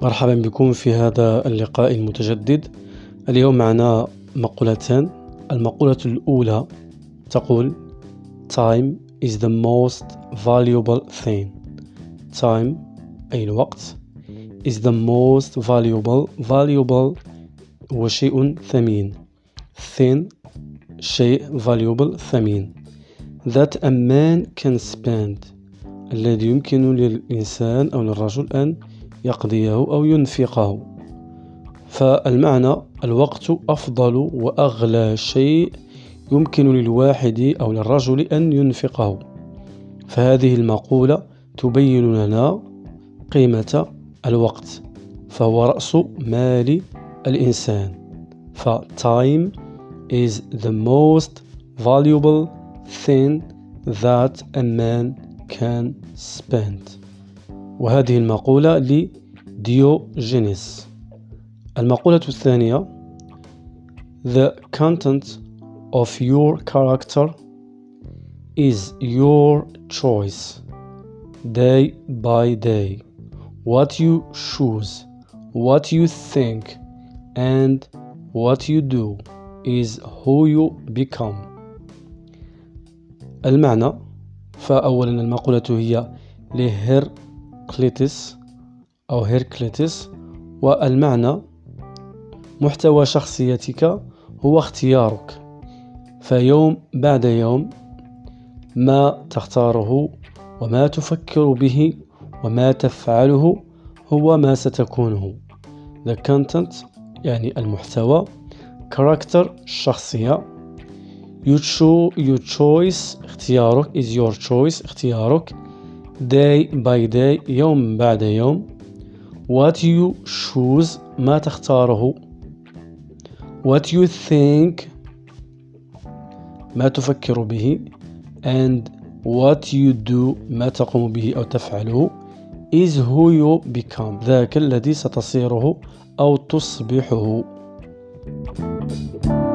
مرحبا بكم في هذا اللقاء المتجدد. اليوم معنا مقولتان. المقولة الأولى تقول Time is the most valuable thing. Time أي الوقت is the most valuable هو شيء ثمين. Thing شيء valuable ثمين that a man can spend الذي يمكن للإنسان أو للرجل أن يقضيه أو ينفقه. فالمعنى الوقت أفضل وأغلى شيء يمكن للواحد أو للرجل أن ينفقه. فهذه المقولة تبين لنا قيمة الوقت، فهو رأس مال الإنسان. Time is the most valuable thing that a man can spend. وهذه المقولة لديوجينيس. المقولة الثانية The content of your character is your choice day by day. What you choose, what you think and what you do is who you become. المعنى فأولا المقولة هي لهيراقليطس أو هيراقليطس، والمعنى محتوى شخصيتك هو اختيارك، فيوم بعد يوم ما تختاره وما تفكر به وما تفعله هو ما ستكونه. The content يعني المحتوى، character الشخصية، you choice اختيارك is your choice اختيارك، day by day يوم بعد يوم، what you choose ما تختاره، what you think ما تفكر به and what you do ما تقوم به أو تفعله is who you become ذاك الذي ستصيره أو تصبحه.